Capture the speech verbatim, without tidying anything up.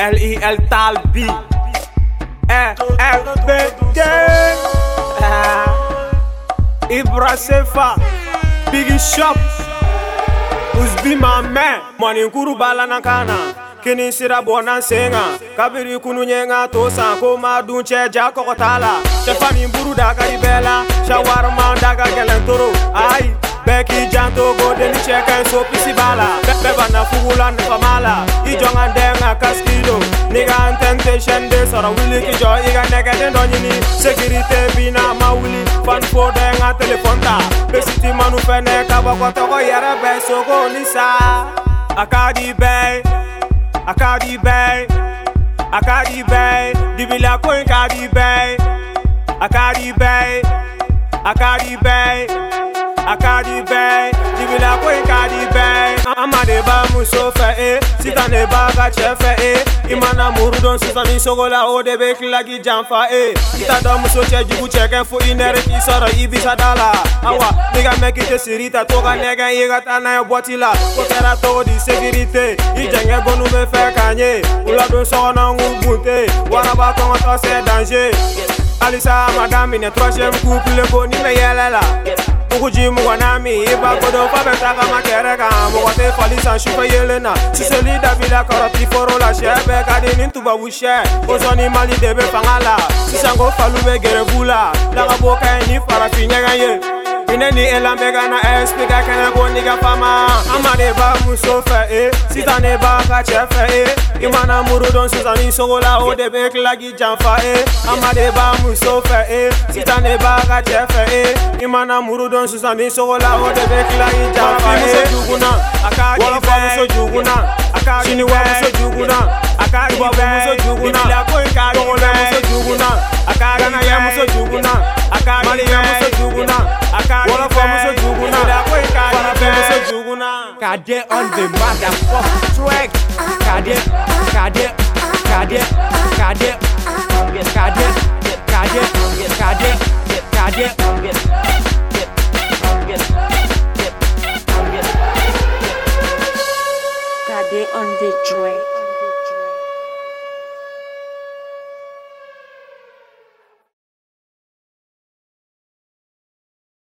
L I L Talbi E F B D Ibra Sefa Biggie Shop Usbi my man Money kuru bala nakana Kini sira bona senga Kabiri kunu nyenga tosa Koma dunche jako kotala Stefani mburu daga ibela Shawarma daga gelentoro Ay Beki janto go deni cheka so pisi bala Beba na fugula na famala Ijonga ndenga kaskido Nigga temptation de sora wili ki jo Iga nega den donjini Security bina ma wili Fan fo denga telefonta Besiti manu fene kaba kwa toko yere be Soko nisa Akadi bay Akadi bay Akadi bay Dibila koin kadi bay Akadi bay Akadi bay Akadi bay Dibila koin kadi bay Amade ba musofe eh Sita ne ba ga chefe eh Imana murudon sisa ni sogola o de bek lagi jamfa eh Kita do muso che jibu cheke fu inere ki soro ibisa dala Awa nigga make it sirita toga nega yiga tana yo botila Kokera to di security Ijenge gonu me fe kanye Ula don so na ngubunte Waraba kongo to se danger Alisa madame ne troisième couple ko ni me yelela Mukuji mwanami iba kodo fa betaka makereka Mwate falisa shufa yelena Siseli davila karati foro la shebe Kadi nintuba wishe Ozoni mali debe fangala Sisango falube gerebula Daga boka ni farafi nyega ye Ineni elambega na espika kena go niga fama Amade ba musofe eh Sitane ba ka chefe eh Imana murudon susani sogola o debe klagi jamfa eh Amade ba musofe eh Sitane ba ka chefe eh Imana murudon susani sogola o debe klagi jamfa eh Muso juguna Akadi ba muso juguna Akadi wa muso juguna Akadi ba muso juguna Ibila ko ikadi ba muso juguna Akadi ya muso juguna Akadi ya muso juguna Akadi ba muso juguna Ibila ko ikadi ba muso juguna Kade on the motherfucking track. Kade, Kade, Kade, Kade, Kade, Kade, Kade, Kade, Kade on the track.